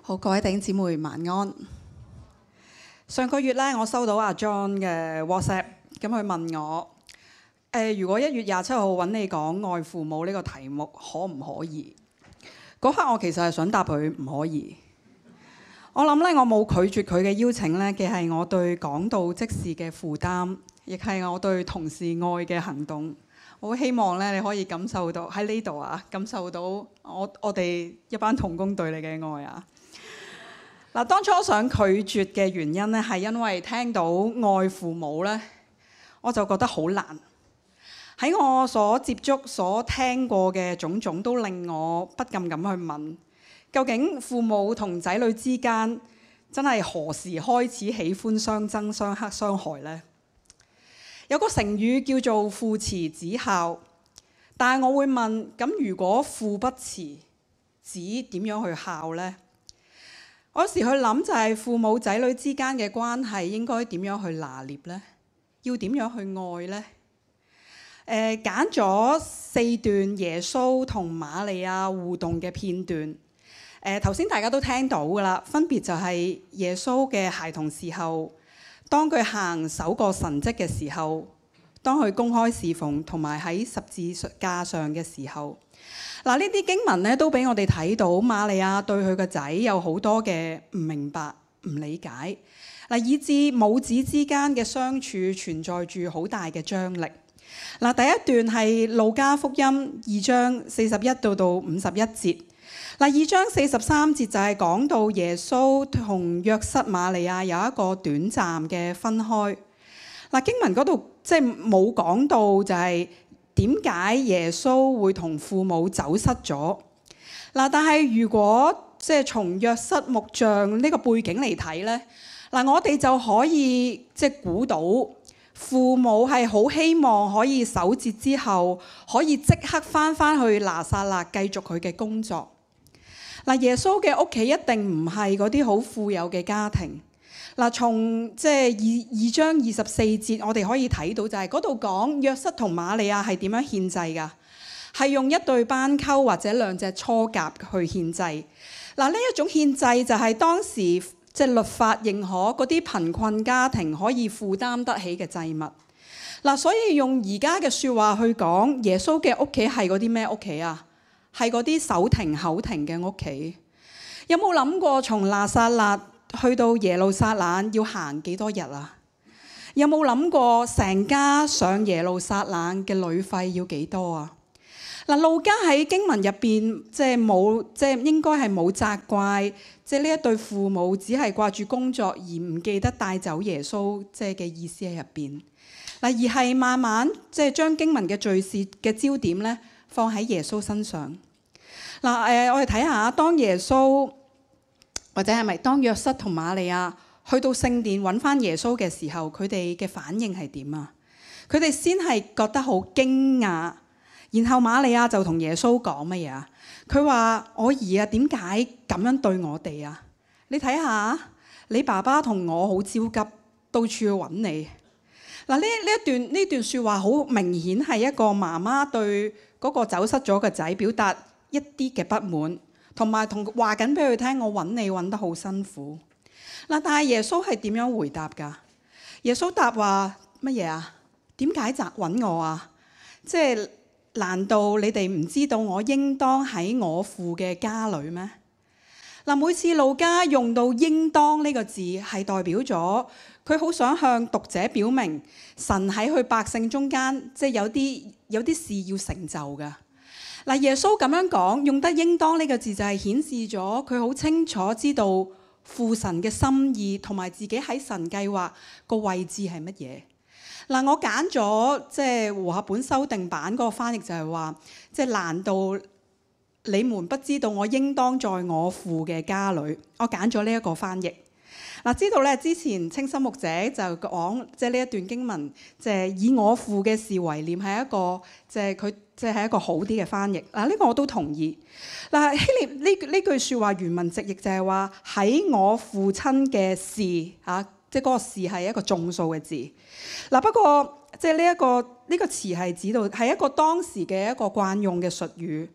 好，各位弟兄姊妹晚安。上個月咧，我收到阿 John 嘅 WhatsApp，咁佢問我，如果1月27號揾你講愛父母呢個題目，可唔可以？嗰刻我其實係想答佢唔可以。我諗咧，我冇拒絕佢嘅邀請咧，既係我對講道即時嘅負擔，亦係我對同事愛嘅行動。我好希望咧，你可以感受到喺呢度啊，感受到我哋一班同工對你嘅愛啊！嗱，當初我想拒絕嘅原因咧，係因為聽到愛父母咧，我就覺得好難。喺我所接觸、所聽過嘅種種，都令我不禁咁去問：究竟父母同仔女之間，真係何時開始喜歡相爭、相克、相害呢？有個成語叫做父慈子孝，但係我會問：咁如果父不慈，子點樣去孝呢？我有時去諗就係父母仔女之間嘅關係應該點樣去拿捏呢？要點樣去愛呢？揀咗4段耶穌同瑪利亞互動嘅片段。頭先大家都聽到㗎啦，分別就係耶穌嘅孩童時候，當佢行首個神蹟嘅時候，當佢公開侍奉同埋喺十字架上嘅時候。嗱，呢啲經文咧都俾我哋睇到瑪利亞對佢個仔有好多嘅唔明白、唔理解，嗱，以致母子之間嘅相處存在住好大嘅張力。嗱，第一段係路加福音2章41到51節。嗱，2章43節就係講到耶穌同約瑟瑪利亞有一個短暫嘅分開。嗱，經文嗰度即係冇講到就係點解耶穌會同父母走失咗？嗱，但係如果即係從約瑟木匠呢個背景嚟睇咧，嗱，我哋就可以即係估到父母係好希望可以守節之後可以即刻翻去拿撒勒繼續佢嘅工作。嗱，耶穌嘅屋企一定唔係嗰啲好富有嘅家庭。嗱，從即係2章24節，我哋可以睇到就係嗰度講約瑟同瑪利亞係點樣獻祭㗎？係用一對斑鳩或者2隻雛鴿去獻祭。嗱，呢一種獻祭就係當時即係律法認可嗰啲貧困家庭可以負擔得起嘅祭物。嗱，所以用而家嘅説話去講，耶穌嘅屋企係嗰啲咩屋企啊？係嗰啲手停口停嘅屋企。有冇諗過從拿撒勒去到耶路撒冷要行幾多日啊？有冇諗過成家上耶路撒冷嘅旅費要幾多啊？嗱，路加喺經文入邊即係冇，即係應該係冇責怪，即係呢一對父母只係掛住工作而唔記得帶走耶穌，即係嘅意思喺入邊。嗱，而係慢慢即係將經文嘅敘事嘅焦點咧放喺耶穌身上。嗱，我哋睇下當耶穌，或者係咪當約瑟同瑪利亞去到聖殿揾翻耶穌嘅時候，佢哋嘅反應係點啊？佢哋先係覺得好驚訝，然後瑪利亞就同耶穌講乜嘢啊？佢話：我兒啊，點解咁樣對我哋啊？你睇下，你爸爸同我好焦急，到處去揾你。嗱，呢段説話好明顯係一個媽媽對嗰個走失咗嘅仔表達一啲嘅不滿。同埋話緊俾佢聽，我揾你揾得好辛苦。嗱，但係耶穌係點樣回答㗎？耶穌答話乜嘢啊？點解揾我啊？即係難道你哋唔知道我應當喺我父嘅家裏咩？嗱，每次路加用到應當呢個字，係代表咗佢好想向讀者表明神喺佢百姓中間，即係有啲事要成就㗎。嗱，耶穌咁樣講，用得應當呢個字就係顯示咗佢好清楚知道父神嘅心意同埋自己喺神計劃個位置係乜嘢。嗱，我揀咗即係和合本修訂版嗰個翻譯就係話，即係難道你們不知道我應當在我父嘅家裏？我揀咗呢一個翻譯。嗱，知道咧之前清心牧者就講，即係呢一段經文，即係以我父嘅事為念係一個，即係佢即係一個好啲嘅翻譯。嗱，呢個我都同意。嗱，希臘呢句説話原文直譯就係話喺我父親嘅事嚇，即係嗰個事係一個眾數嘅字。嗱，不過即係呢個詞係指到係一個當時嘅一個慣用嘅術語。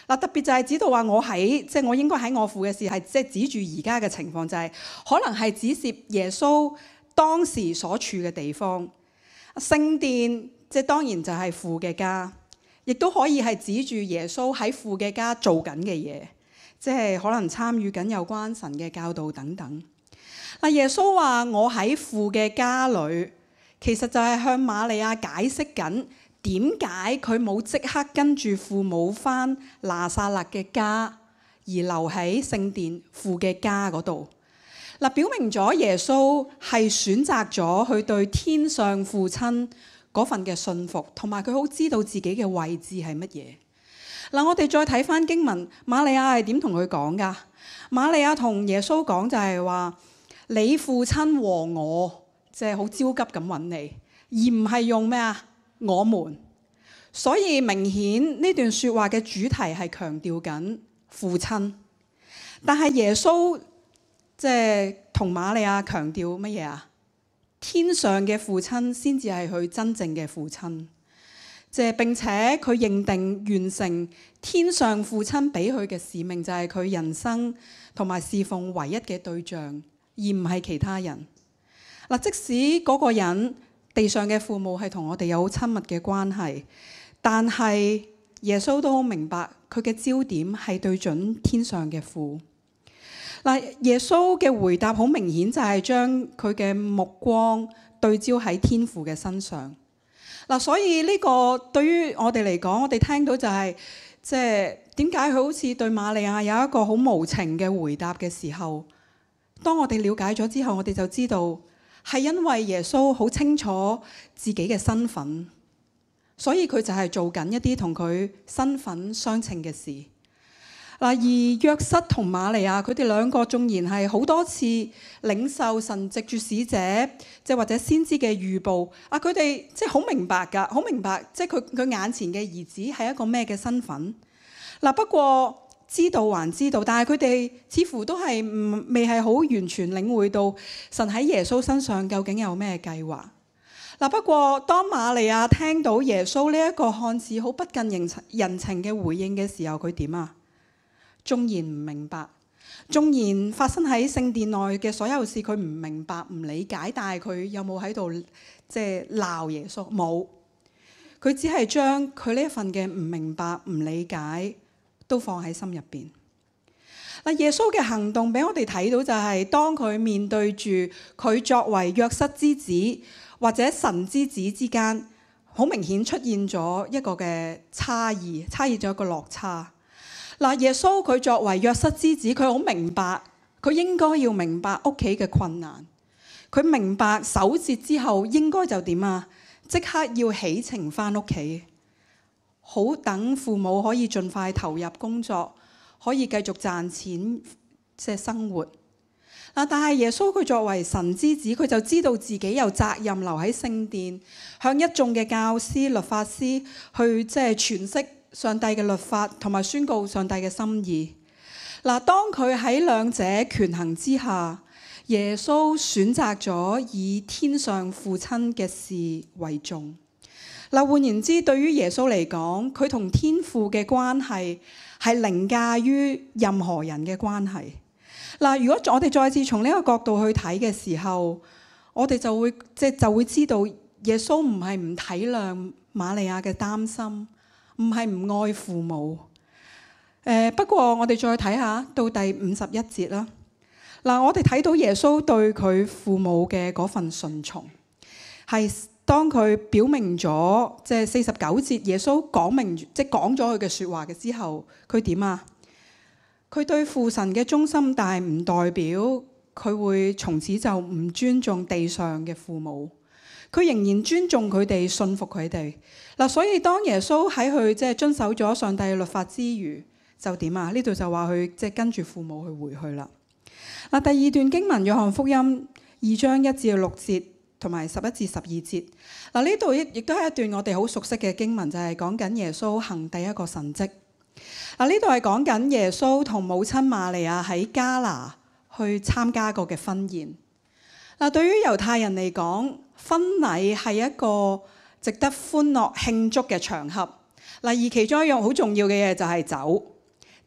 嗱，特別就係指到話我應該喺我父嘅事，係即係指住而家嘅情況，就係可能係指涉耶穌當時所處嘅地方。聖殿即係當然就係父嘅家，亦都可以係指住耶穌喺父嘅家做緊嘅嘢，即係可能參與緊有關神嘅教導等等。嗱，耶穌話我喺父嘅家裏，其實就係向瑪利亞解釋緊點解佢冇即刻跟住父母返拿撒勒嘅家，而留喺聖殿父嘅家嗰度。嗱，表明咗耶穌係選擇咗去對天上父親嗰份嘅信服，同埋佢好知道自己嘅位置係乜嘢。嗱，我哋再睇返經文，瑪利亞係點同佢講㗎？瑪利亞同耶穌講就係話：你父親和我，即係好焦急咁揾你，而唔係用咩啊？我們。所以明顯呢段説話嘅主題係強調緊父親，但係耶穌即係同瑪利亞強調乜嘢啊？天上嘅父親先至係佢真正嘅父親，即係並且佢認定完成天上父親俾佢嘅使命，就係佢人生同埋侍奉唯一嘅對象，而唔係其他人。嗱，即使嗰個人地上嘅父母係同我哋有好親密嘅關係，但係耶穌都好明白佢嘅焦點係對準天上嘅父。嗱，耶穌嘅回答好明顯就係將佢嘅目光對焦喺天父嘅身上。嗱，所以呢個對於我哋嚟講，我哋聽到就係即係點解佢好似對瑪利亞有一個好無情嘅回答嘅時候，當我哋了解咗之後，我哋就知道係因為耶穌好清楚自己嘅身份，所以佢就係做緊一啲同佢身份相稱嘅事。嗱，而約瑟同瑪利亞佢哋兩個縱然係好多次領受神藉住使者，即係或者先知嘅預報，佢哋即係好明白㗎，好明白即係佢眼前嘅兒子係一個咩嘅身份。不過知道還知道，但係佢哋似乎都係未係好完全領會到神喺耶穌身上究竟有咩計劃。不過當瑪利亞聽到耶穌呢一個看似好不近人情嘅回應嘅時候，佢點啊？縱然唔明白，縱然發生喺聖殿內嘅所有事，佢唔明白、唔理解，但係佢有冇喺度即係鬧耶穌？冇，佢只係將佢呢一份嘅唔明白、唔理解都放喺心入邊。耶穌嘅行動俾我哋睇到就係當佢面對住佢作為約瑟之子或者神之子之間，好明顯出現咗一個嘅差異咗一個落差。耶穌佢作為約瑟之子，佢好明白，佢應該要明白屋企嘅困難。佢明白守節之後應該就點啊？即刻要起程返屋企，好等父母可以盡快投入工作，可以繼續賺錢即係生活。但係耶穌佢作為神之子，佢就知道自己有責任留喺聖殿，向一眾嘅教師、律法師去即係詮釋上帝嘅律法同埋宣告上帝嘅心意。當佢喺兩者權衡之下，耶穌選擇咗以天上父親嘅事為重。換言之，對於耶穌嚟講，佢同天父嘅關係係凌駕於任何人嘅關係。如果我哋再次從呢個角度去睇嘅時候，我哋就會知道耶穌唔係唔體諒瑪利亞嘅擔心，唔係唔愛父母。不過我哋再睇下到第51節啦。我哋睇到耶穌對佢父母嘅嗰份順從，係當佢表明咗即係49節，耶穌講明即係講咗佢嘅説話嘅之後，佢點啊？佢對父神嘅忠心，但係唔代表佢會從此就唔尊重地上嘅父母。佢仍然尊重佢哋，信服佢哋。所以當耶穌喺佢即係遵守咗上帝嘅律法之餘，就點啊？呢度就話佢即係跟住父母去回去啦。第二段經文，約翰福音2章1至6節同埋11至12節。呢度亦都係一段我哋好熟悉嘅經文，就係講緊耶穌行第一個神蹟。呢度係講緊耶穌同母親瑪利亞喺迦拿去參加過嘅婚宴。對於猶太人嚟講，婚禮係一個值得歡樂慶祝嘅場合。而其中一樣好重要嘅嘢就係酒。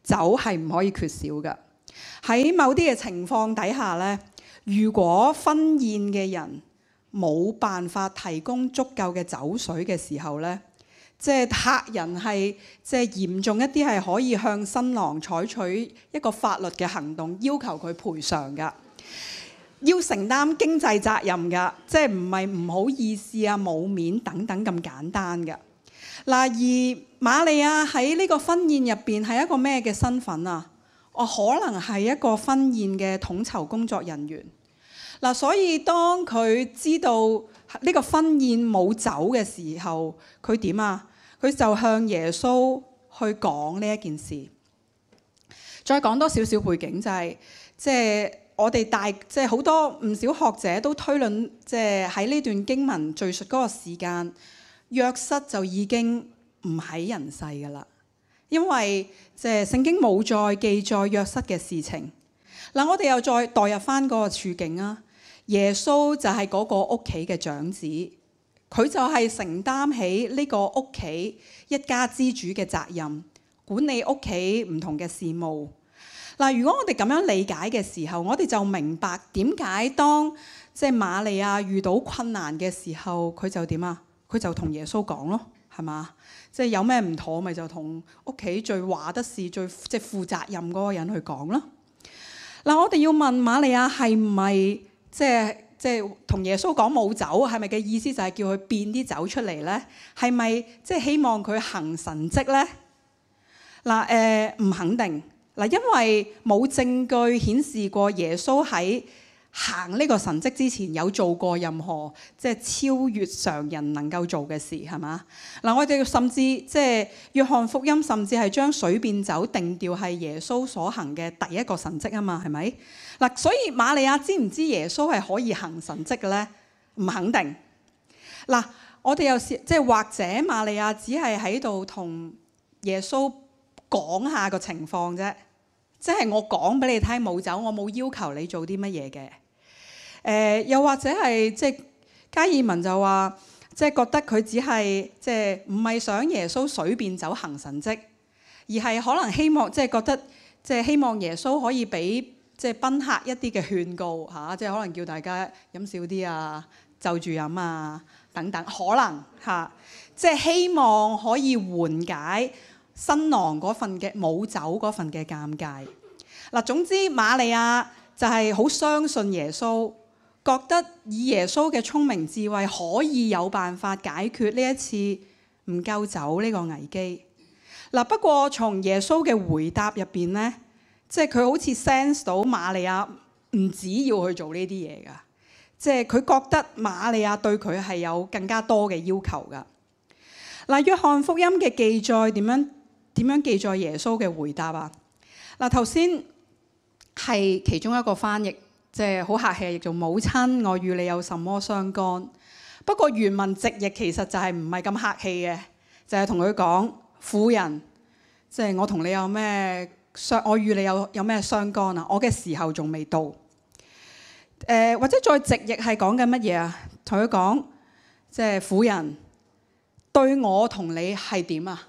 酒係唔可以缺少嘅。喺某啲嘅情況底下咧，如果婚宴嘅人冇辦法提供足夠嘅酒水嘅時候咧，即係客人係即係嚴重一啲，係可以向新郎採取一個法律嘅行動，要求佢賠償㗎，要承擔經濟責任㗎，即係唔係唔好意思啊、冇面等等咁簡單㗎。嗱，而瑪利亞喺呢個婚宴入邊係一個咩嘅身份啊？可能係一個婚宴嘅統籌工作人員。嗱，所以當佢知道呢個婚宴冇酒嘅時候，佢點啊？佢就向耶穌去講呢一件事。再講多少少背景，就係即係我哋即係好多唔少學者都推論，即係喺呢段經文敘述嗰個時間，約瑟就已經唔喺人世㗎啦，因為即係聖經冇再記載約瑟嘅事情。嗱，我哋又再代入翻嗰個處境啊，耶穌就係嗰個屋企嘅長子。佢就係承擔起呢個屋企一家之主嘅責任，管理屋企唔同嘅事務。嗱，如果我哋咁樣理解嘅時候，我哋就明白點解當即係瑪利亞遇到困難嘅時候，佢就點啊？佢就同耶穌講咯，係嘛？即係有咩唔妥，咪就同屋企最話得事、最即係負責任嗰個人去講咯。嗱，我哋要問瑪利亞係唔係即係同耶穌講冇酒，係咪嘅意思就係叫佢變啲酒出嚟咧？係咪即係希望佢行神蹟咧？嗱，唔肯定。嗱，因為冇證據顯示過耶穌喺行呢個神蹟之前有做過任何即係超越常人能夠做嘅事，係嘛？嗱，我哋甚至即係約翰福音甚至係將水變酒定調係耶穌所行嘅第一個神蹟啊嘛，係咪？嗱，所以瑪利亞知唔知耶穌係可以行神蹟嘅咧？唔肯定。嗱，我哋又即係或者瑪利亞只係喺度同耶穌講下個情況啫，即係我講俾你聽冇酒，我冇要求你做啲乜嘢嘅。又或者係即係加爾文就話，即係覺得佢只係即係唔係想耶穌水變酒行神蹟，而係可能希望即係覺得即係希望耶穌可以俾即係賓客一啲嘅勸告嚇，即係可能叫大家飲少啲啊，就住飲啊等等，可能嚇，即係希望可以緩解新郎嗰份嘅冇酒嗰份嘅尷尬。嗱，總之瑪利亞就係好相信耶穌，覺得以耶穌嘅聰明智慧可以有辦法解決呢一次唔夠酒呢個危機。嗱，不過從耶穌嘅回答入邊咧，即係佢好似 sense 到瑪利亞唔止要去做呢啲嘢㗎，即係佢覺得瑪利亞對佢係有更加多嘅要求㗎。嗱，約翰福音嘅記載點樣記載耶穌嘅回答啊？嗱，頭先係其中一個翻譯，即係好客氣，譯做母親，我與你有什麼相干？不過原文直譯其實就係唔係咁客氣嘅，就係同佢講婦人，即係我同你有咩我與你有咩相干啊？我嘅時候仲未到。或者再直譯係講緊乜嘢啊？同佢講即係婦人對我同你係點啊？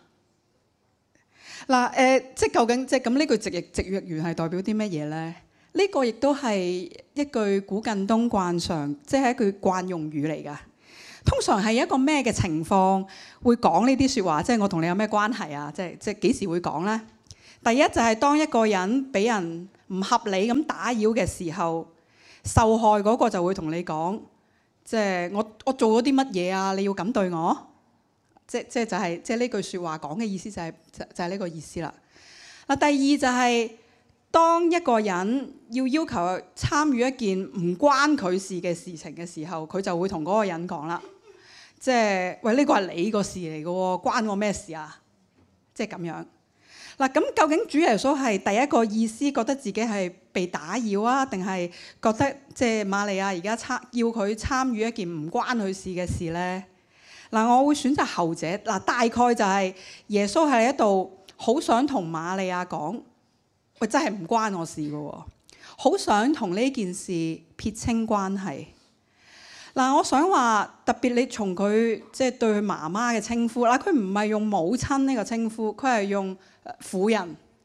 嗱，即係究竟即係咁呢句直譯員係代表啲乜嘢咧？呢個亦都係一句古近東慣常，即係一句慣用語嚟㗎。通常係一個咩嘅情況會講呢啲説話？即係我同你有咩關係啊？即係幾時會講咧？第一就係當一個人俾人唔合理咁打擾嘅時候，受害嗰個就會同你講，即係我做咗啲乜嘢啊？你要咁對我？即係呢句説話講嘅意思就係呢個意思啦。嗱，第二就係當一個人要求參與一件唔關佢事嘅事情嘅時候，佢就會同嗰個人講啦，即係喂，呢個係你個事嚟嘅喎，關我咩事啊？即係咁樣。嗱，咁究竟主耶穌係第一個意思覺得自己係被打擾啊，定係覺得即係瑪利亞而家要佢參與一件唔關佢事嘅事咧？嗱，我會選擇後者。嗱，大概就係耶穌喺一度好想同瑪利亞講，喂，真係唔關我事嘅喎，好想同呢件事撇清關係。嗱，我想話特別你從佢即係對佢媽媽嘅稱呼，嗱，佢唔係用母親呢個稱呼，佢係用婦人，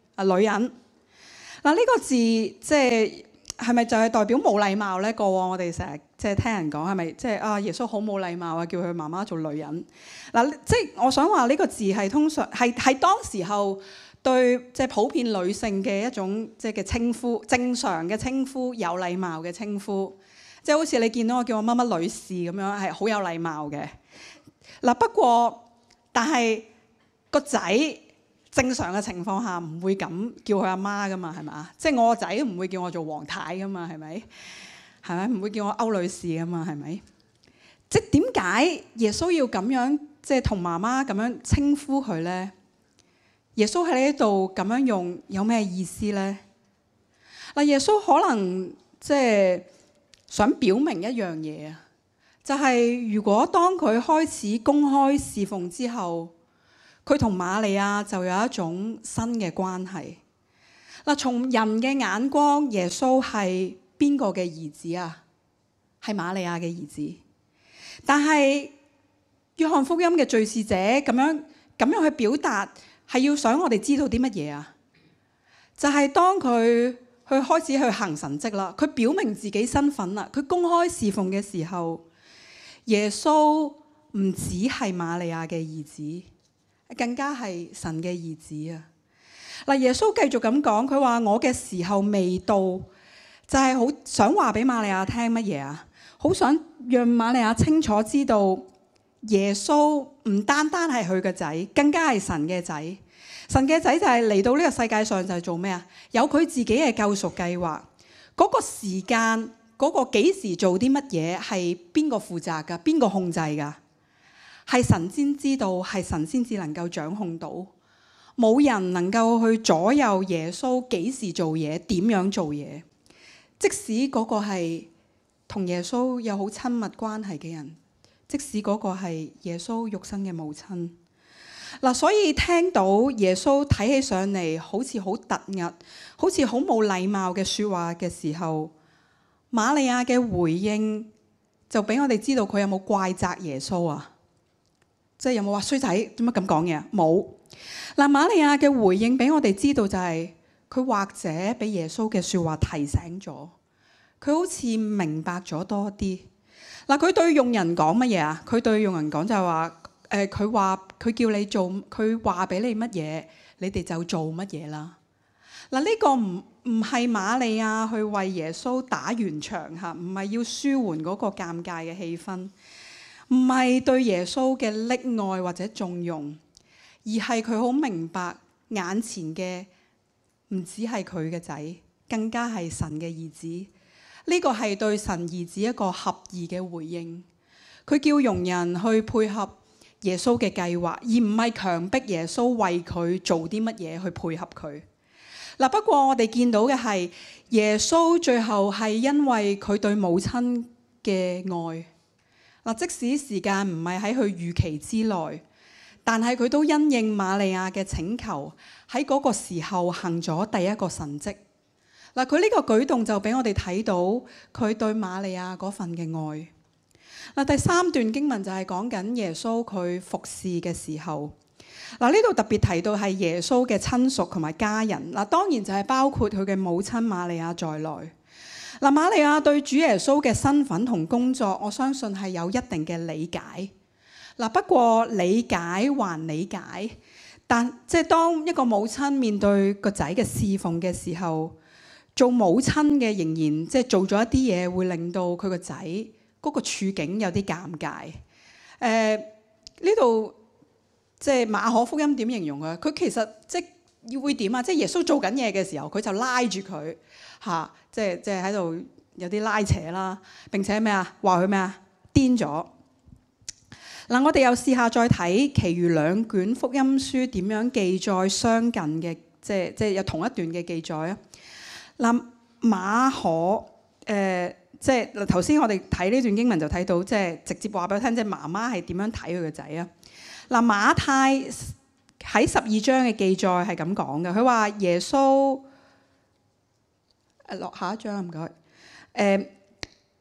女人。嗱，呢個字即係咪就係代表冇禮貌咧？過往我哋成日即係聽人講係咪即係啊耶穌好冇禮貌啊，叫佢媽媽做女人。嗱，即係我想話呢個字係通常係當時候對即係普遍女性嘅一種即係嘅稱呼，正常嘅稱呼，有禮貌嘅稱呼。即係好似你見到我叫我乜乜女士咁樣係好有禮貌嘅。嗱，不過但係個仔。正常嘅情況下唔會咁叫佢阿媽噶嘛，係咪啊？即係我個仔唔會叫我做黃太噶嘛，係咪？係咪？唔會叫我歐女士噶嘛，係咪？即係點解耶穌要咁樣即係同媽媽咁樣稱呼佢咧？耶穌喺呢度咁樣用有咩意思咧？嗱，耶穌可能即係想表明一樣嘢啊，就係如果當佢開始公開侍奉之後。佢同瑪利亞就有一種新嘅關係。嗱，從人嘅眼光，耶穌係邊個嘅兒子啊？係瑪利亞嘅兒子。但係約翰福音嘅敘事者咁樣去表達，係要想我哋知道啲乜嘢啊？就係當佢去開始去行神蹟啦，佢表明自己身份啦，佢公開侍奉嘅時候，耶穌唔只係瑪利亞嘅兒子。更加係神嘅兒子啊！嗱，耶穌繼續咁講，佢話我嘅時候未到，就係好想話俾瑪利亞聽乜嘢啊？好想讓瑪利亞清楚知道，耶穌唔單單係佢嘅仔，更加係神嘅仔。神嘅仔就係嚟到呢個世界上就係做咩啊？有佢自己嘅救贖計劃。嗰個時間，嗰個幾時做啲乜嘢，係邊個負責㗎？邊個控制㗎？係神先知道，係神先至能夠掌控到，冇人能夠去左右耶穌幾時做嘢，點樣做嘢。即使嗰個係同耶穌有好親密關係嘅人，即使嗰個係耶穌肉身嘅母親。嗱，所以聽到耶穌睇起上嚟好似好突兀，好似好冇禮貌嘅說話嘅時候，瑪利亞嘅回應就俾我哋知道佢有冇怪責耶穌啊？即係有冇話衰仔點解咁講嘢？冇。嗱，瑪利亞嘅回應俾我哋知道就係佢或者俾耶穌嘅說話提醒咗，佢好似明白咗多啲。嗱，佢對用人講乜嘢啊？佢對用人講就係話，佢叫你做，佢話俾你乜嘢，你哋就做乜嘢啦。嗱，呢個唔係瑪利亞去為耶穌打圓場嚇，唔係要舒緩嗰個尷尬嘅氣氛。唔係對耶穌嘅溺愛或者縱容，而係佢好明白眼前嘅唔只係佢嘅仔，更加係神嘅兒子。呢個係對神兒子一個合意嘅回應。佢叫傭人去配合耶穌嘅計劃，而唔係強迫耶穌為佢做啲乜嘢去配合佢。嗱，不過我哋見到嘅係耶穌最後係因為佢對母親嘅愛。嗱，即使時間唔係喺佢預期之內，但係佢都因應瑪利亞嘅請求，喺嗰個時候行咗第一個神蹟。嗱，佢呢個舉動就俾我哋睇到佢對瑪利亞嗰份嘅愛。嗱，第三段經文就係講緊耶穌佢服侍嘅時候。嗱，呢度特別提到係耶穌嘅親屬同埋家人。嗱，當然就係包括佢嘅母親瑪利亞在內。嗱，瑪利亞對主耶穌嘅身份同工作，我相信係有一定嘅理解。嗱，不過理解還理解，但即係當一個母親面對個仔嘅侍奉嘅時候，做母親嘅仍然即係做咗一啲嘢，會令到佢個仔嗰個處境有啲尷尬。呢度即係馬可福音點形容啊？佢其實即係會點啊？即係耶穌做緊嘢嘅時候，佢就拉住佢嚇。即係喺度有啲拉扯啦，並且咩啊？話佢咩啊？癲咗。嗱，我哋又試下再睇其餘兩卷福音書點樣記載相近嘅，即係有同一段嘅記載啊。嗱，馬可即係嗱頭先我哋睇呢段經文就睇到，即係直接話俾我聽，即係媽媽係點樣睇佢個仔啊。嗱，馬太喺12章嘅記載係咁講嘅，佢話耶穌。落下一張唔該。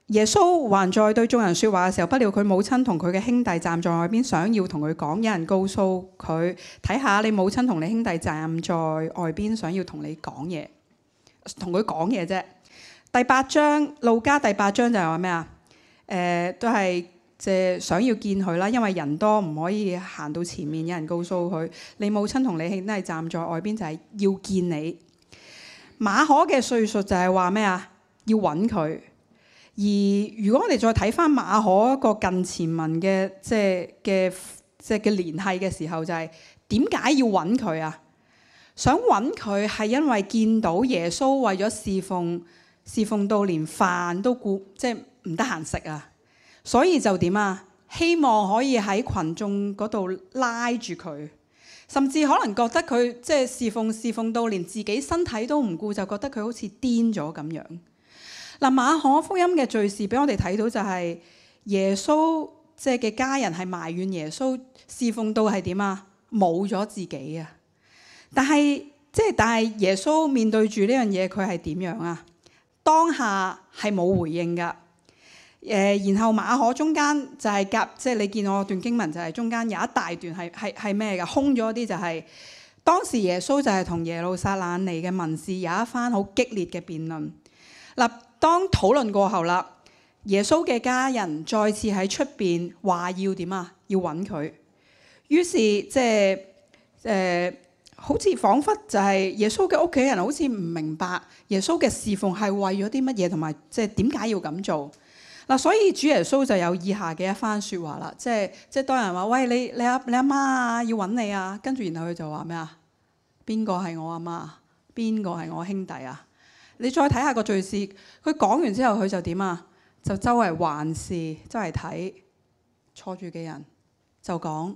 耶穌還在對眾人說話嘅時候，不料佢母親同佢嘅兄弟站在外邊，想要同佢講。有人告訴佢：睇下你母親同你兄弟站在外邊，想要同你講嘢，同佢講嘢啫。第8章，路加第8章就係話咩啊？都係即係想要見佢啦，因為人多唔可以行到前面。有人告訴佢：你母親同你兄弟站在外邊，就係要見你。馬可嘅敘述就係話咩啊？要揾佢。而如果我哋再睇翻馬可一個近前文嘅嘅聯繫嘅時候，就係點解要揾佢啊？想揾佢係因為見到耶穌為咗侍奉到連飯都即係唔得閒食啊，所以就點啊？希望可以喺群眾嗰度拉住佢，甚至可能覺得佢即係侍奉到連自己身體都唔顧，就覺得佢好似癲咗咁樣。嗱，馬可福音嘅敘事俾我哋睇到就係耶穌即係嘅家人係埋怨耶穌侍奉到係點啊？冇咗自己啊！但係耶穌面對住呢樣嘢，佢係點樣啊？當下係冇回應噶。然後馬可中間就係即係你見我段經文就係中間有一大段係咩噶？空咗啲就係當時耶穌就係同耶路撒冷嚟嘅文士有一番好激烈嘅辯論。嗱，當討論過後啦，耶穌嘅家人再次喺出邊話要點啊？要揾佢。於是好似彷彿就係耶穌嘅屋企人好似唔明白耶穌嘅侍奉係為咗啲乜嘢，同埋即係點解要咁做嗱。所以主耶穌就有以下嘅一番説話啦，即係當人話喂，你阿媽啊要揾你啊，跟住然後佢就話咩啊？邊個係我阿媽？邊個係我兄弟啊？你再睇下個敘事，佢講完之後，佢就點啊？就周圍環視，周圍睇坐住嘅人，就講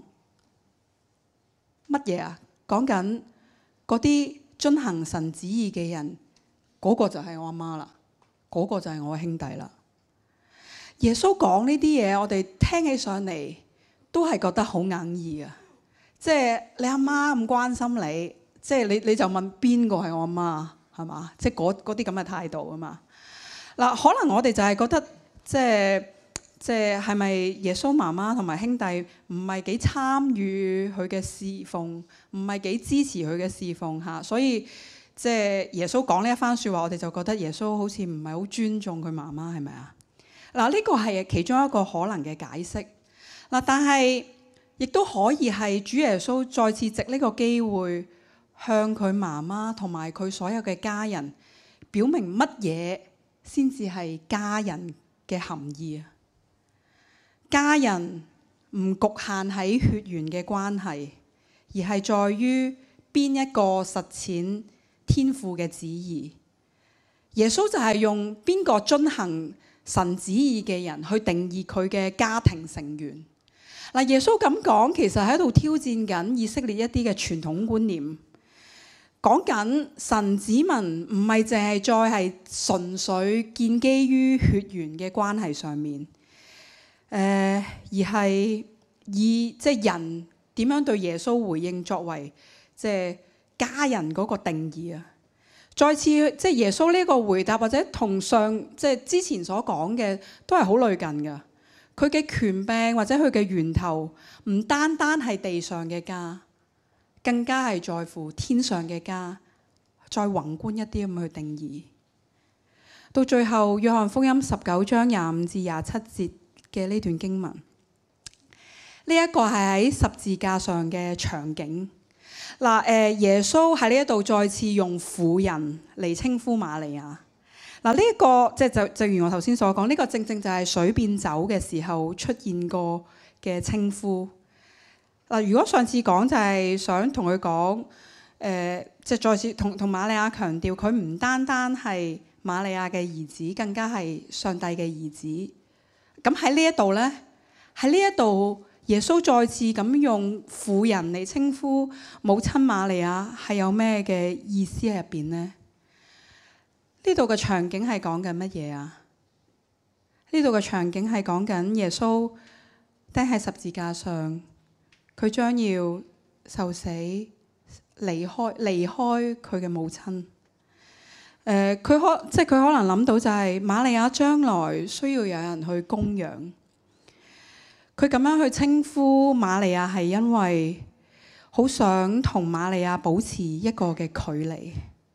乜嘢啊？講緊嗰啲遵行神旨意嘅人，嗰個就係我阿媽啦，嗰個就係我兄弟啦。耶穌講呢啲嘢，我哋聽起上嚟都係覺得好哽耳啊！即係你阿媽咁關心你，即係你就問邊個係我阿媽？係嘛？即係嗰啲咁嘅態度啊嘛。嗱，可能我哋就係覺得，即係係咪耶穌媽媽同埋兄弟唔係幾參與佢嘅侍奉，唔係幾支持佢嘅侍奉嚇，所以即係耶穌講呢一番説話，我哋就覺得耶穌好似唔係好尊重佢媽媽，係咪啊？嗱，呢個係其中一個可能嘅解釋。嗱，但係亦都可以係主耶穌再次藉呢個機會，向佢媽媽同埋佢所有嘅家人表明乜嘢先至係家人嘅含義啊！家人唔局限喺血緣嘅關係，而係在於邊一個實踐天父嘅旨意。耶穌就係用邊個遵行神旨意嘅人去定義佢嘅家庭成員。嗱，耶穌咁講，其實喺度挑戰緊以色列一啲嘅傳統觀念。講緊神子民唔係淨係再係純粹建基於血緣嘅關係上面，而係以即係人點樣對耶穌回應作為即係家人嗰個定義啊！再次即係耶穌呢個回答，或者同上即係之前所講嘅都係好類近㗎。佢嘅權柄或者佢嘅源頭唔單單係地上嘅家，更加係在乎天上嘅家，再宏觀一啲咁去定義。到最後，約翰福音19章25至27節嘅呢段經文，呢一個係喺十字架上嘅場景。嗱，耶穌喺呢一度再次用婦人嚟稱呼瑪利亞。嗱，呢一個即係就正如我頭先所講，呢個正正就係水變酒嘅時候出現過嘅稱呼。嗱，如果上次講就係想同佢講，即係再次同瑪利亞強調，佢唔單單係瑪利亞嘅兒子，更加係上帝嘅兒子。咁喺呢一度咧，喺呢一度耶穌再次咁用婦人嚟稱呼母親瑪利亞，係有咩嘅意思喺入邊呢？呢度嘅場景係講緊乜嘢啊？呢度嘅場景係講緊耶穌釘喺十字架上，佢將要受死，離開佢嘅母親。 佢可能諗到就係瑪利亞將來需要有人去供養。佢咁樣去稱呼瑪利亞係因為好想同瑪利亞保持一個嘅距離。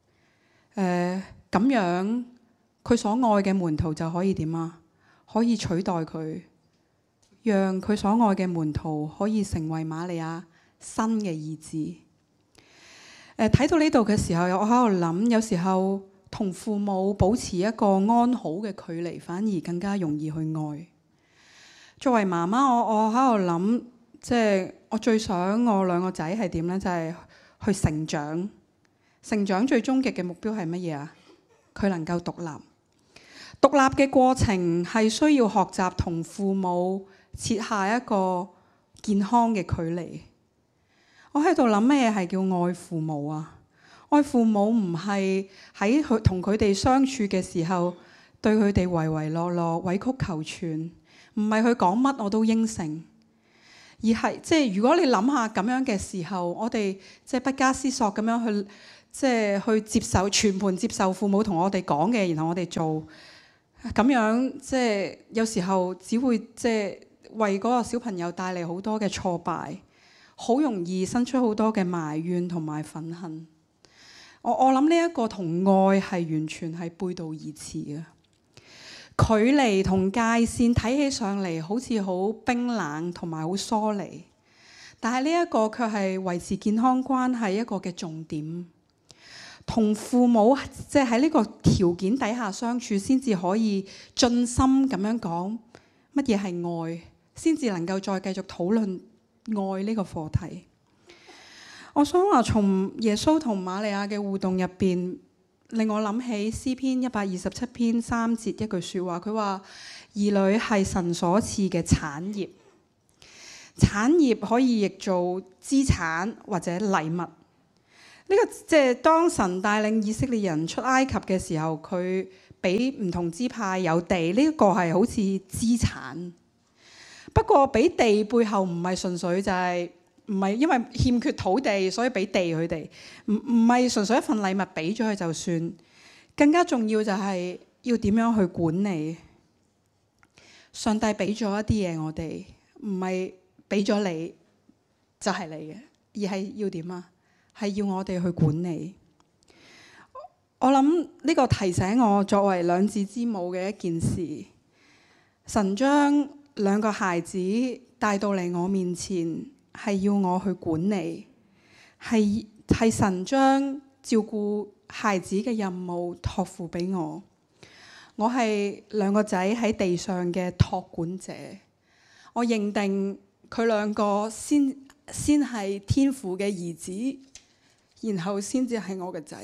咁樣佢所愛嘅門徒就可以點啊？可以取代佢，讓佢所愛嘅門徒可以成為瑪利亞新嘅意志。睇到呢度嘅時候，我喺度諗，有時候同父母保持一個安好嘅距離，反而更加容易去愛。作為媽媽，我喺度諗，即係我最想我兩個仔係點呢？就係去成長。成長最終極嘅目標係乜嘢啊？佢能夠獨立。獨立嘅過程係需要學習同父母設下一個健康嘅距離。我喺度諗咩係叫愛父母啊？愛父母唔係喺佢同佢哋相處嘅時候對佢哋唯唯諾諾、委曲求全，唔係佢講乜我都應承，而係即係如果你諗下咁樣嘅時候，我哋即係不加思索咁樣去即係去接受全盤接受父母同我哋講嘅，然後我哋做咁樣，即係有時候只會即係為嗰個小朋友帶嚟好多嘅挫敗。好容易生出好多嘅埋怨同埋憤恨。我諗呢一個同愛係完全係背道而馳嘅。距離同界線睇起上嚟好似好冰冷同埋好疏離，但係呢一個卻係維持健康關係一個嘅重點。同父母即係喺呢個條件底下相處，先至可以盡心咁樣講乜嘢係愛，先至能夠再繼續討論愛呢個課題。我想話從耶穌同瑪利亞嘅互動入邊，令我諗起詩篇127篇3節一句説話，佢話兒女係神所賜嘅產業。產業可以譯做資產或者禮物。呢個即係當神帶領以色列人出埃及嘅時候，佢俾唔同支派有地，呢個係好似資產。不過俾地背後唔係純粹就係唔係因為欠缺土地所以俾地佢哋，唔係純粹一份禮物俾咗佢就算。更加重要就係要點樣去管理。上帝俾咗一啲嘢我哋，唔係俾咗你就係你嘅，而係要點啊？係要我哋去管理。我諗呢個提醒我作為兩子之母嘅一件事，神將兩個孩子帶到嚟我面前，係要我去管理，係神將照顧孩子嘅任務託付俾我。我係兩個仔喺地上嘅託管者，我認定佢兩個先係天父嘅兒子，然後先至係我嘅仔。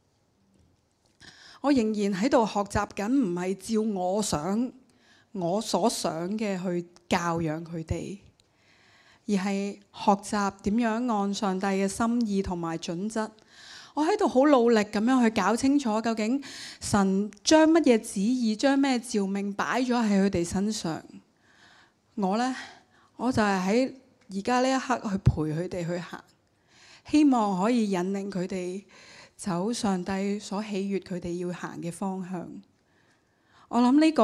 我仍然喺度學習緊，唔係照我所想嘅去教養佢哋，而係學習點樣按上帝嘅心意同埋準則。我喺度好努力咁樣去搞清楚，究竟神將乜嘢旨意、將咩召命擺咗喺佢哋身上。我就係喺而家呢一刻去陪佢哋去行，希望可以引領佢哋走上帝所喜悅佢哋要行嘅方向。我諗呢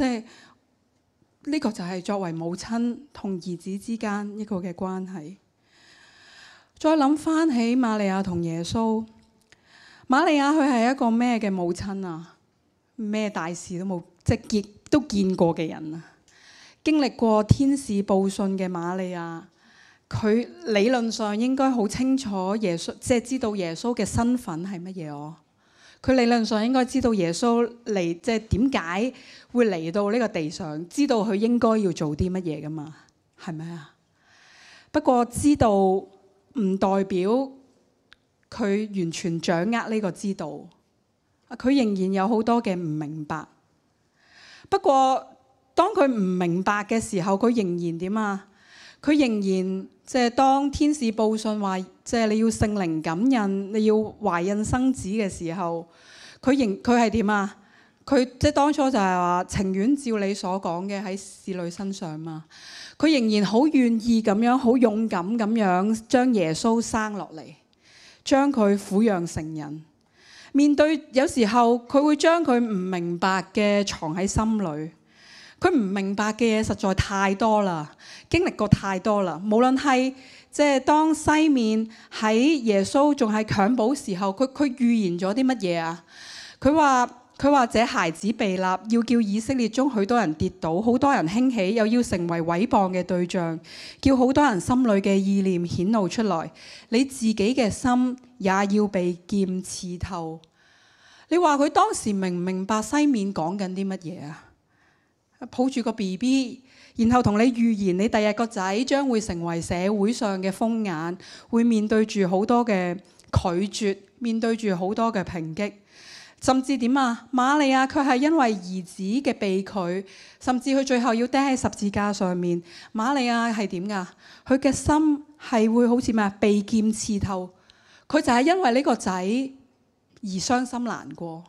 個就係作為母親同兒子之間一個嘅關係。再諗翻起瑪利亞同耶穌，瑪利亞佢係一個咩嘅母親啊？咩大事都冇，即係都見過嘅人啊！經歷過天使報信嘅瑪利亞，佢理論上應該好清楚耶穌，即係知道耶穌嘅身份係乜嘢哦。佢理論上應該知道耶穌嚟，即係點解會嚟到呢個地上，知道佢應該要做啲乜嘢噶嘛？係咪啊？不過知道唔代表佢完全掌握呢個知道，佢仍然有好多嘅唔明白。不過當佢唔明白嘅時候，佢仍然點啊？佢仍然即係當天使報信話，即係你要聖靈感孕，你要懷孕生子嘅時候，佢係點啊？佢即係當初就係話情願照你所講嘅喺使女身上嘛。佢仍然好願意咁樣，好勇敢咁樣將耶穌生落嚟，將佢撫養成人。 面對有時候佢會將佢唔明白嘅藏喺心裏。佢唔明白嘅嘢實在太多啦，經歷過太多啦。無論係即係當西面喺耶穌仲係襁褓時候，佢預言咗啲乜嘢啊？佢話這孩子被立，要叫以色列中許多人跌倒，好多人興起，又要成為毀謗嘅對象，叫好多人心裏嘅意念顯露出來。你自己嘅心也要被劍刺透。你話佢當時明唔明白西面講緊啲乜嘢啊？抱住個 BB， 然後同你預言你第日個仔將會成為社會上嘅風眼，會面對住好多嘅拒絕，面對住好多嘅抨擊，甚至點啊？瑪利亞佢係因為兒子嘅被拒，甚至佢最後要釘喺十字架上面。瑪利亞係點㗎？佢嘅心係會好似咩啊？被劍刺透。佢就係因為呢個仔而傷心難過。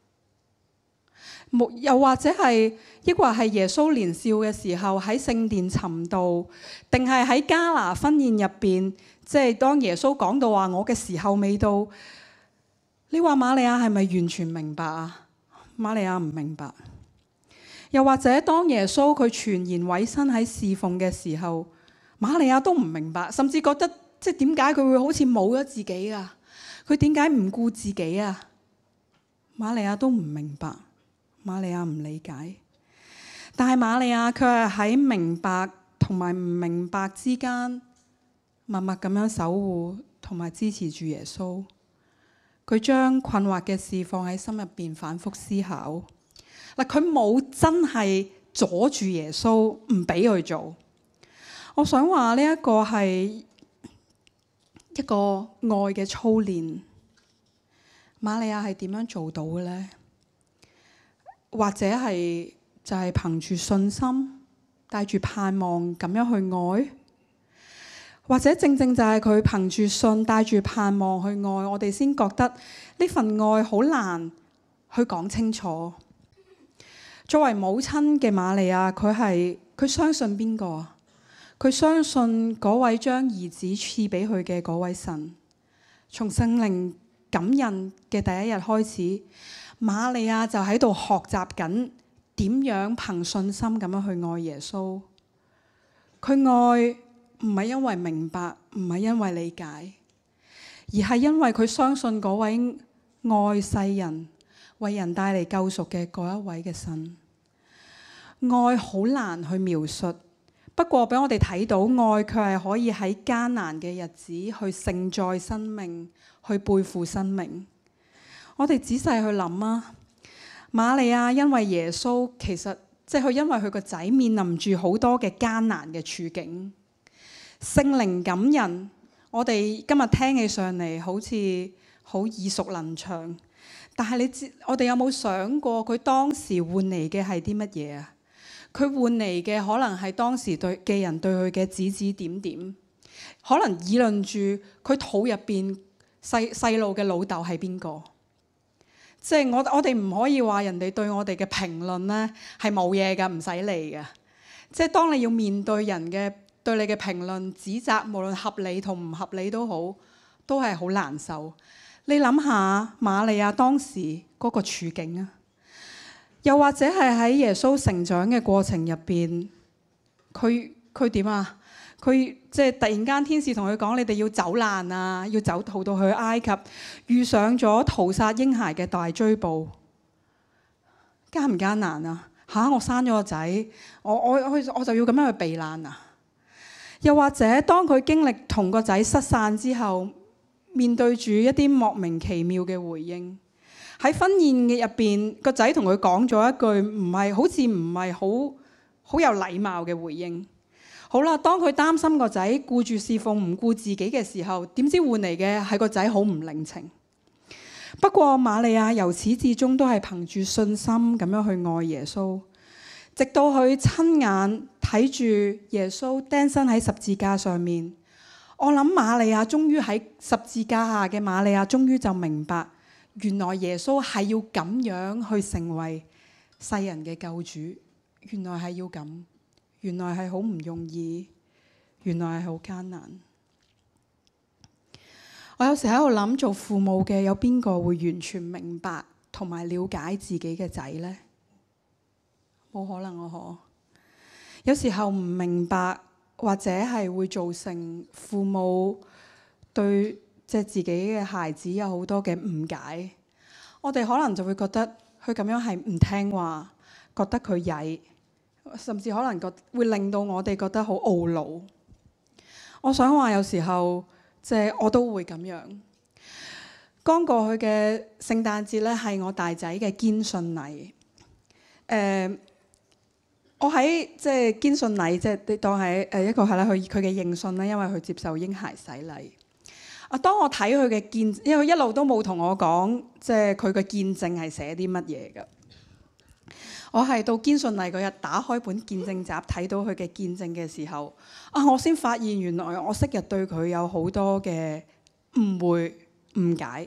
又或者係，抑或係耶穌年少嘅時候喺聖殿尋道，定係喺迦拿婚宴入邊，即係當耶穌講到話我嘅時候未到，你話瑪利亞係咪完全明白啊？瑪利亞唔明白。又或者當耶穌佢全然委身喺侍奉嘅時候，瑪利亞都唔明白，甚至覺得即係點解佢會好似冇咗自己啊？佢點解唔顧自己啊？瑪利亞都唔明白。瑪利亞唔理解，但係瑪利亞卻係喺明白同埋唔明白之間，默默咁樣守護同埋支持住耶穌。佢將困惑嘅事放喺心入邊反覆思考。嗱，佢冇真係阻住耶穌唔俾佢做。我想話呢一個係一個愛嘅操練。瑪利亞係點樣做到嘅呢？或者係就係憑住信心，帶住盼望咁樣去愛，或者正正就係佢憑住信，帶住盼望去愛，我哋先覺得呢份愛好難去講清楚。作為母親嘅瑪利亞，佢相信邊個啊？佢相信嗰位將兒子賜俾佢嘅嗰位神。從聖靈感孕嘅第一日開始，瑪利亞就喺度學習緊點樣憑信心咁樣去愛耶穌。佢愛唔係因為明白，唔係因為理解，而係因為佢相信嗰位愛世人、為人帶嚟救贖嘅嗰一位嘅神。愛好難去描述，不過俾我哋睇到愛卻係可以喺艱難嘅日子去承載生命，去背負生命。我哋仔細去諗啊，瑪利亞因為耶穌，其實即係佢因為佢個仔面臨住好多嘅艱難嘅處境，聖靈感人。我哋今日聽起上嚟好似好耳熟能詳，但係我哋有冇想過佢當時換嚟嘅係啲乜嘢啊？佢換嚟嘅可能係當時嘅人對佢嘅指指點點，可能議論住佢肚入邊細路嘅老豆係邊個。即係我哋唔可以話人哋對我哋嘅評論咧係冇嘢㗎，唔使理㗎。即係當你要面對人嘅對你嘅評論指責，無論合理同唔合理都好，都係好難受。你諗下瑪利亞當時嗰個處境啊，又或者係喺耶穌成長嘅過程入邊，佢點啊？佢即係突然間天使同佢講：你哋要走難啊，要逃到去埃及，遇上咗屠殺嬰孩嘅大追捕，艱唔艱難啊？我生咗個仔，我就要咁樣去避難啊？又或者當佢經歷同個仔失散之後，面對住一啲莫名其妙嘅回應，喺婚宴嘅入邊，個仔同佢講咗一句好似唔係好有禮貌嘅回應。好啦，當佢擔心個仔顧住侍奉唔顧自己嘅時候，點知換嚟嘅係個仔好唔領情。不過瑪利亞由始至終都係憑住信心咁樣去愛耶穌，直到佢親眼睇住耶穌釘身喺十字架上面。我諗瑪利亞終於喺十字架下嘅瑪利亞終於就明白，原來耶穌係要咁樣去成為世人嘅救主，原來係要咁。原來係好唔容易，原來係好艱難。 我有時喺度諗，做父母嘅有邊個會完全明白同埋了解自己嘅仔呢？冇可能啊！有時候唔明白，或者係會造成父母對自己嘅孩子有好多嘅誤解。我哋可能就會覺得佢咁樣係唔聽話，覺得佢曳，甚至可能會令到我哋覺得好懊惱。我想話有時候我都會咁樣。剛過去嘅聖誕節咧，係我大仔嘅堅信禮。我喺堅信禮，你當係一個係啦，佢嘅認信啦，因為佢接受嬰孩洗禮。當我睇佢嘅見，因為佢一路都冇同我講，佢嘅見證係寫啲乜嘢嘅。我係到堅信禮嗰日打開本見證集，睇到佢嘅見證嘅時候，我先發現原來我昔日對佢有好多嘅誤會誤解。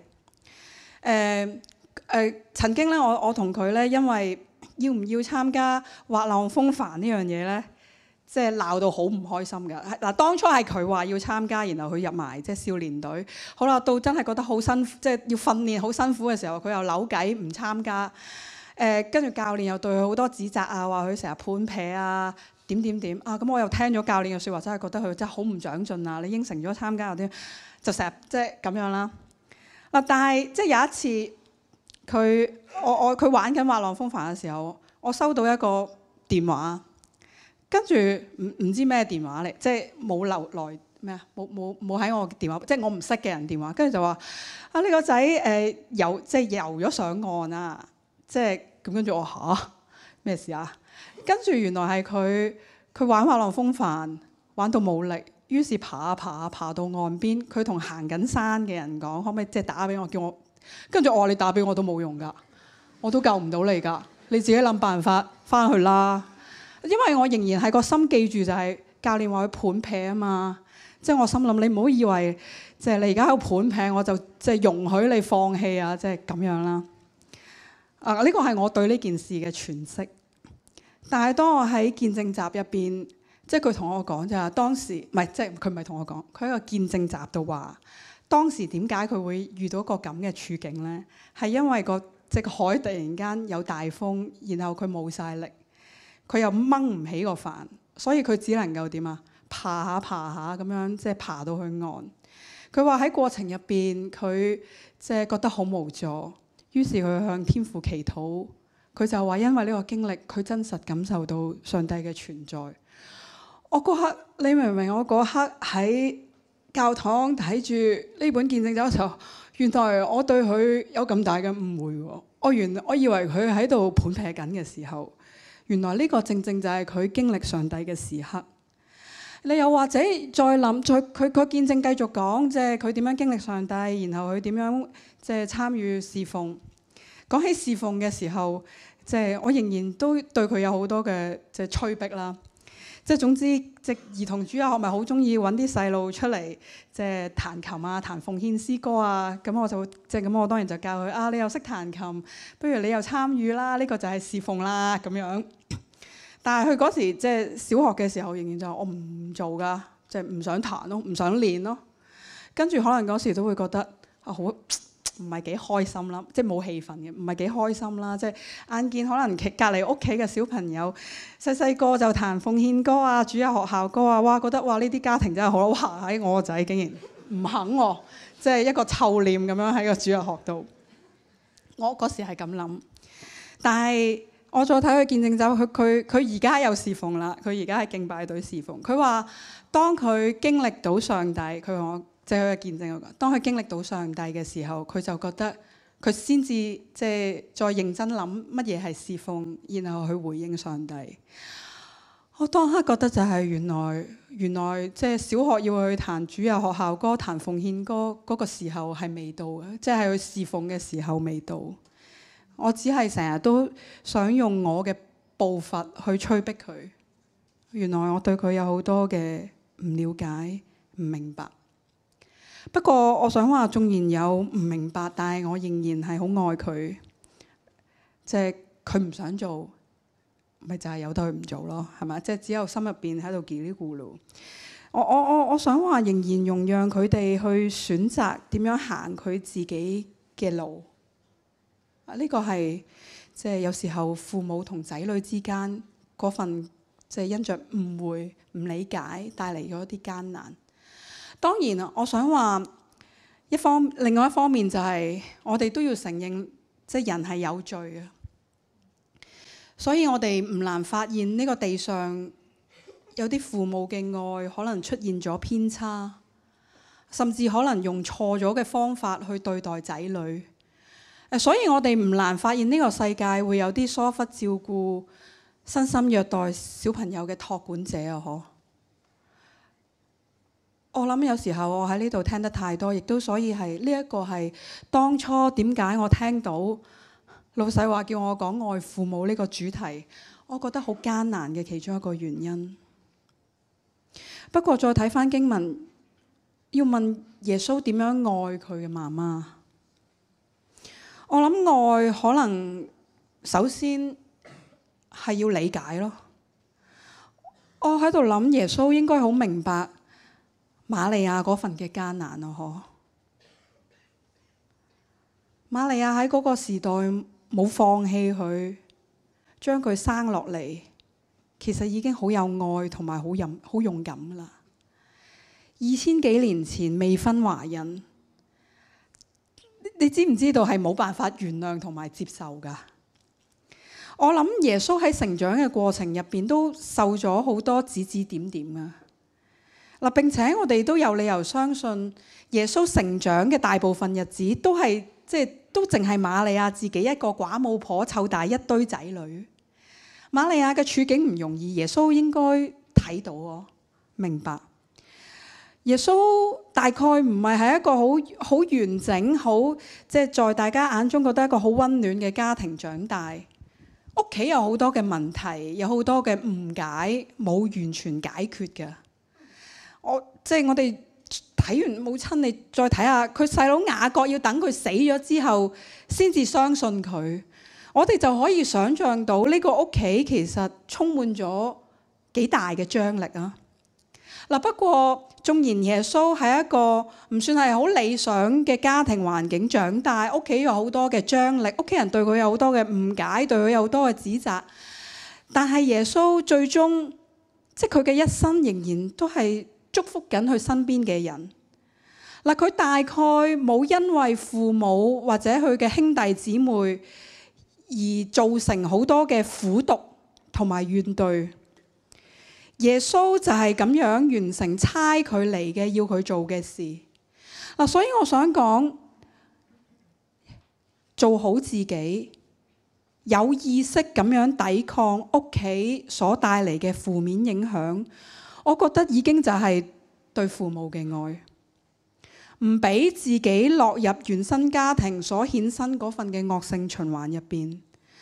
曾經咧，我同佢咧，因為要唔要參加滑浪風帆呢樣嘢咧，鬧到好唔開心㗎。嗱，當初係佢話要參加，然後佢入埋少年隊。好啦，到真係覺得好辛苦，要訓練好辛苦嘅時候，佢又扭計唔參加。跟住教練又對佢好多指責啊，話佢成日判撇啊，點咁我又聽咗教練嘅説話，真係覺得佢真係好唔長進啊！你應承咗參加嗰啲，就成日咁樣啦。但係有一次佢玩緊滑浪風帆嘅時候，我收到一個電話，跟住唔知咩電話嚟，冇留來咩啊，冇喺我電話，我唔識嘅人電話，跟住就話呢個仔游咗上岸啊！咁跟住我嚇咩事啊？跟住原來係佢玩滑浪風帆玩到冇力，於是爬到岸邊。佢同行緊山嘅人講，可唔可以打俾我，叫我？跟住我話你打俾我都冇用㗎，我都救唔到你㗎，你自己諗辦法翻去啦。因為我仍然係個心記住就係教練話佢盤劈啊嘛，我心諗你唔好以為你而家喺度盤劈，我就容許你放棄啊，咁樣啦。呢個係我對呢件事嘅詮釋。但係當我喺見證集入邊，佢同我講就係當時，唔係佢唔係同我講，佢喺個見證集度話，當時點解佢會遇到個咁嘅處境呢？係因為個海突然間有大風，然後佢冇晒力，佢又掹唔起個帆，所以佢只能夠點啊？爬下咁樣，爬到去岸。佢話喺過程入邊，佢覺得好無助。於是佢向天父祈禱，佢就話因為呢個經歷，佢真實感受到上帝嘅存在。我嗰刻，你明唔明？我嗰刻喺教堂睇住呢本見證集嘅時候，原來我對佢有咁大嘅誤會喎。我以為佢喺度盤劈緊嘅時候，原來呢個正正就係佢經歷上帝嘅時刻。你又或者再諗，佢個見證繼續講，佢點樣經歷上帝，然後佢點樣參與侍奉。講起侍奉嘅時候，我仍然都對佢有好多嘅催逼啦。總之，兒童主日學咪好中意揾啲細路出嚟，彈琴啊、彈奉獻詩歌啊。咁我就咁，我當然就教佢你又識彈琴，不如你又參與啦。呢個就係侍奉啦咁樣。但係佢嗰時小學嘅時候，仍然就我唔做㗎，唔想彈咯，唔想練咯。跟住可能嗰時都會覺得好唔係幾開心啦，冇氣氛嘅，唔係幾開心啦。眼見可能隔離屋企嘅小朋友細個就彈奉獻歌啊、主日學校歌啊，哇覺得哇呢啲家庭真係好哇！喺我個仔竟然唔肯喎，一個臭臉咁樣喺個主日學度。我嗰時係咁諗，但係我再睇佢見證走，佢而家有侍奉啦，佢而家係敬拜隊侍奉。佢話當佢經歷到上帝，佢話我。佢嘅見證嗰個，當佢經歷到上帝嘅時候，佢就覺得佢先至再認真諗乜嘢係侍奉，然後去回應上帝。我當刻覺得就係原來小學要去彈主日學校歌、彈奉獻歌嗰個時候係未到嘅，係去侍奉嘅時候未到。我只係成日都想用我嘅步伐去催逼佢。原來我對佢有好多嘅唔了解、唔明白。不過我想話，縱然有唔明白，但係我仍然係好愛佢。佢唔想做，咪就係由得佢唔做咯，係咪？只有心入邊喺度嘰哩咕嚕。 我想話仍然容讓佢哋去選擇點樣行佢自己嘅路。呢個係即係有時候父母同仔女之間嗰份即係因着誤會、唔理解帶嚟咗一啲艱難。當然我想話另外一方面就係我哋都要承認，即係人係有罪嘅，所以我哋唔難發現呢個地上有啲父母嘅愛可能出現咗偏差，甚至可能用錯咗嘅方法去對待仔女。所以我哋唔難發現呢個世界會有啲疏忽照顧、身心虐待小朋友嘅託管者啊！我諗有時候我喺呢度聽得太多，亦都所以係呢一個係當初點解我聽到老細話叫我講愛父母呢個主題，我覺得好艱難嘅其中一個原因。不過再睇返經文，要問耶穌點樣愛佢嘅媽媽。我諗愛可能首先係要理解咯。我喺度諗耶穌應該好明白瑪利亞嗰份嘅艱難咯，瑪利亞喺嗰個時代冇放棄佢，將佢生落嚟，其實已經好有愛同埋好勇敢㗎喇。2000幾年前未婚懷孕，你知唔知道係冇辦法原諒同埋接受㗎？我諗耶穌喺成長嘅過程入邊都受咗好多指指點點啊！嗱，並且我哋都有理由相信耶穌成長嘅大部分日子都係都淨係瑪利亞自己一個寡母婆湊大一堆仔女。瑪利亞嘅處境唔容易，耶穌應該睇到喎，明白。耶穌大概唔係一個好完整、好在大家眼中覺得一個好溫暖嘅家庭長大，屋企有好多嘅問題，有好多嘅誤解，冇完全解決嘅。我哋睇完母親，你再睇下佢細佬雅各要等佢死咗之後先至相信佢，我哋就可以想像到呢個屋企其實充滿咗幾大嘅張力啊！嗱，不過縱然耶穌係一個唔算係好理想嘅家庭環境長大，屋企有好多嘅張力，屋企人對佢有好多嘅誤解，對佢有好多嘅指責，但係耶穌最終佢嘅一生仍然都係祝福緊佢身邊嘅人。嗱，佢大概冇因為父母或者佢嘅兄弟姊妹而造成好多嘅苦毒同埋怨懟。耶穌就係咁樣完成差佢嚟嘅要佢做嘅事。所以我想講，做好自己，有意識咁樣抵抗屋企所帶嚟嘅負面影響，我覺得已經就係對父母嘅愛，唔俾自己落入原生家庭所衍生嗰份嘅惡性循環入邊，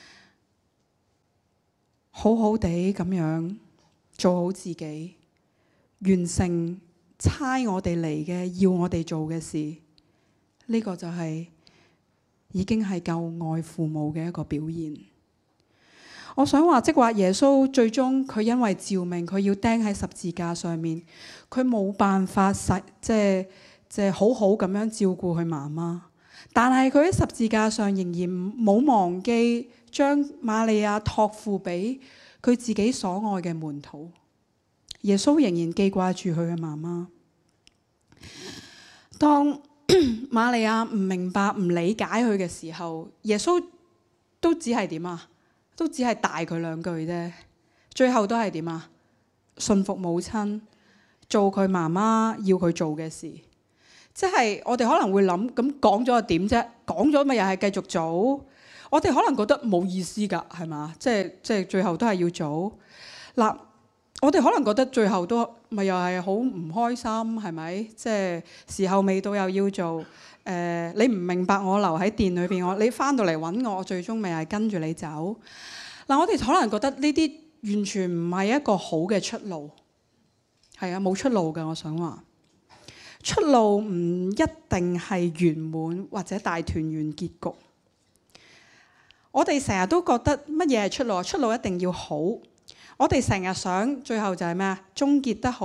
好好地咁樣做好自己，完成差我哋嚟嘅要我哋做嘅事，呢個就係已經係夠愛父母嘅一個表現。我想話，即話耶穌最終佢因為召命，佢要釘喺十字架上面，佢冇辦法好好咁樣照顧佢媽媽，但係佢喺十字架上仍然冇忘記將瑪利亞託付俾佢自己所愛嘅門徒。耶穌仍然記掛住佢嘅媽媽。當瑪利亞唔明白、唔理解佢嘅時候，耶穌都只係點啊？都只係大佢兩句啫。最後都係點啊？順服母親，做佢媽媽要佢做嘅事。即係我哋可能會諗，咁講咗又點啫？講咗咪又係繼續做？我哋可能覺得冇意思㗎，係嘛？即係最後都係要做。嗱，我哋可能覺得最後都咪又係好唔開心，係咪？即係時候未到又要做。你唔明白我留喺殿裏邊，你翻到嚟揾我，我最終咪係跟住你走。嗱，我哋可能覺得呢啲完全唔係一個好嘅出路。係啊，冇出路㗎。我想話出路唔一定係圓滿或者大團圓結局。我哋成日都覺得乜嘢係出路？出路一定要好。我哋成日想最後就係咩啊？終結得好，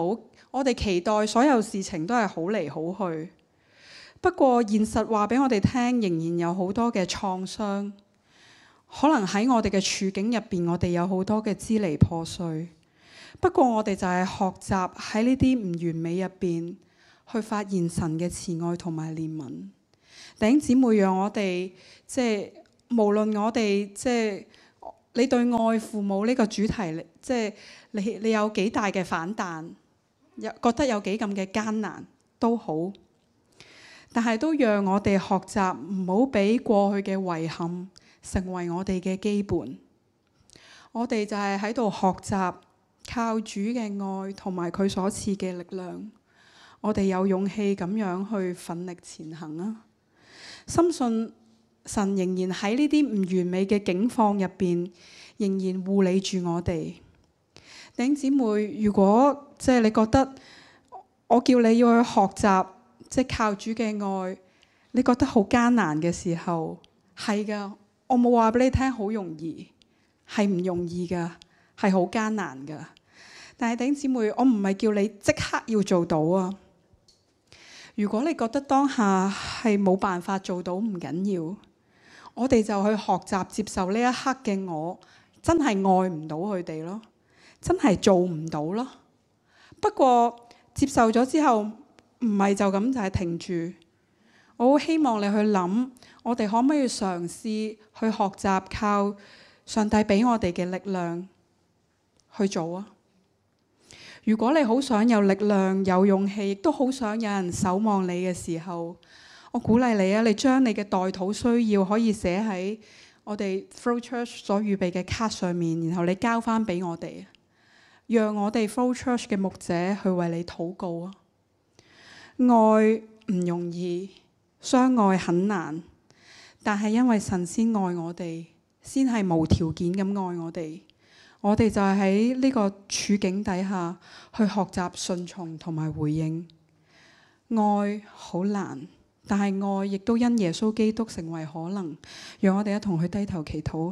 我哋期待所有事情都係好嚟好去。不過現實話俾我哋聽，仍然有好多嘅創傷。可能喺我哋嘅處境入邊，我哋有好多嘅支離破碎。不過我哋就係學習喺呢啲唔完美入邊，去發現神嘅慈愛同埋憐憫。弟兄姊妹，讓我哋無論我哋你對愛父母呢個主題，你有幾大嘅反彈，覺得有幾咁嘅艱難都好。但係都讓我哋學習唔好俾過去嘅遺憾成為我哋嘅基本。我哋就係喺度學習靠主嘅愛同埋佢所賜嘅力量，我哋有勇氣咁樣去奮力前行啊！深信神仍然喺呢啲唔完美嘅境況入邊，仍然護理住我哋。弟兄姊妹，如果你覺得我叫你要去學習靠主嘅愛，你覺得好艱難嘅時候，係㗎，我冇話俾你聽好容易，係唔容易㗎，係好艱難㗎。但係弟兄姊妹，我唔係叫你即刻要做到啊。如果你覺得當下係冇辦法做到，唔緊要，我哋就去學習接受呢一刻嘅我，真係愛唔到佢哋咯，真係做唔到咯。不過接受咗之後，唔係就咁就係停住。我好希望你去諗，我哋可唔可以嘗試去學習靠上帝俾我哋嘅力量去做啊？如果你好想有力量、有勇氣，亦都好想有人守望你嘅時候，我鼓勵你啊！你將你嘅代禱需要可以寫喺我哋 Flow Church 所預備嘅卡上面，然後你交翻俾我哋，讓我哋 Flow Church 嘅牧者去為你禱告啊！愛唔容易，相愛很難，但係因為神先愛我哋，先係無條件咁愛我哋。我哋就係喺呢個處境底下去學習順從同埋回應。愛好難，但係愛亦都因耶穌基督成為可能。讓我哋一同去低頭祈禱。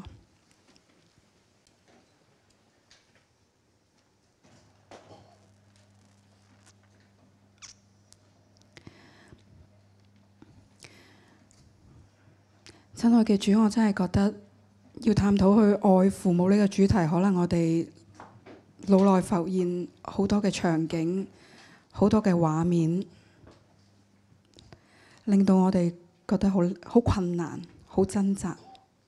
親愛嘅主，我真係覺得要探討去愛父母呢個主題，可能我哋腦內浮現好多嘅場景，好多嘅畫面，令到我哋覺得好困難，好掙扎。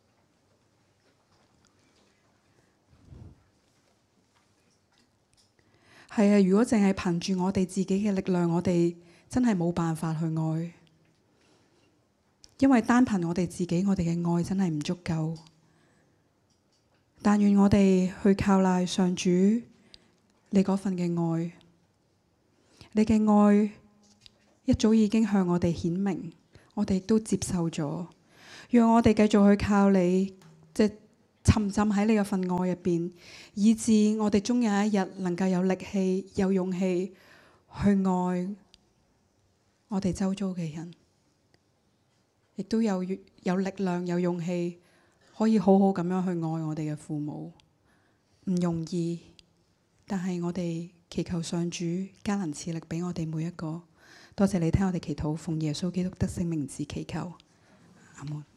係啊，如果淨係憑住我哋自己嘅力量，我哋真係冇辦法去愛，因為單憑我哋自己，我哋嘅愛真係唔足夠。但願我哋去靠賴上主，你嗰份嘅愛，你嘅愛一早已經向我哋顯明，我哋亦都接受咗。讓我哋繼續去靠你，沉浸喺你嘅份愛入邊，以致我哋終有一日能夠有力氣、有勇氣去愛我哋周遭嘅人，亦都有力量、有勇氣，可以好好咁樣去愛我哋嘅父母。唔容易，但係我哋祈求上主加能賜力俾我哋每一個。多謝你聽我哋祈禱，奉耶穌基督得勝名字祈求，阿門。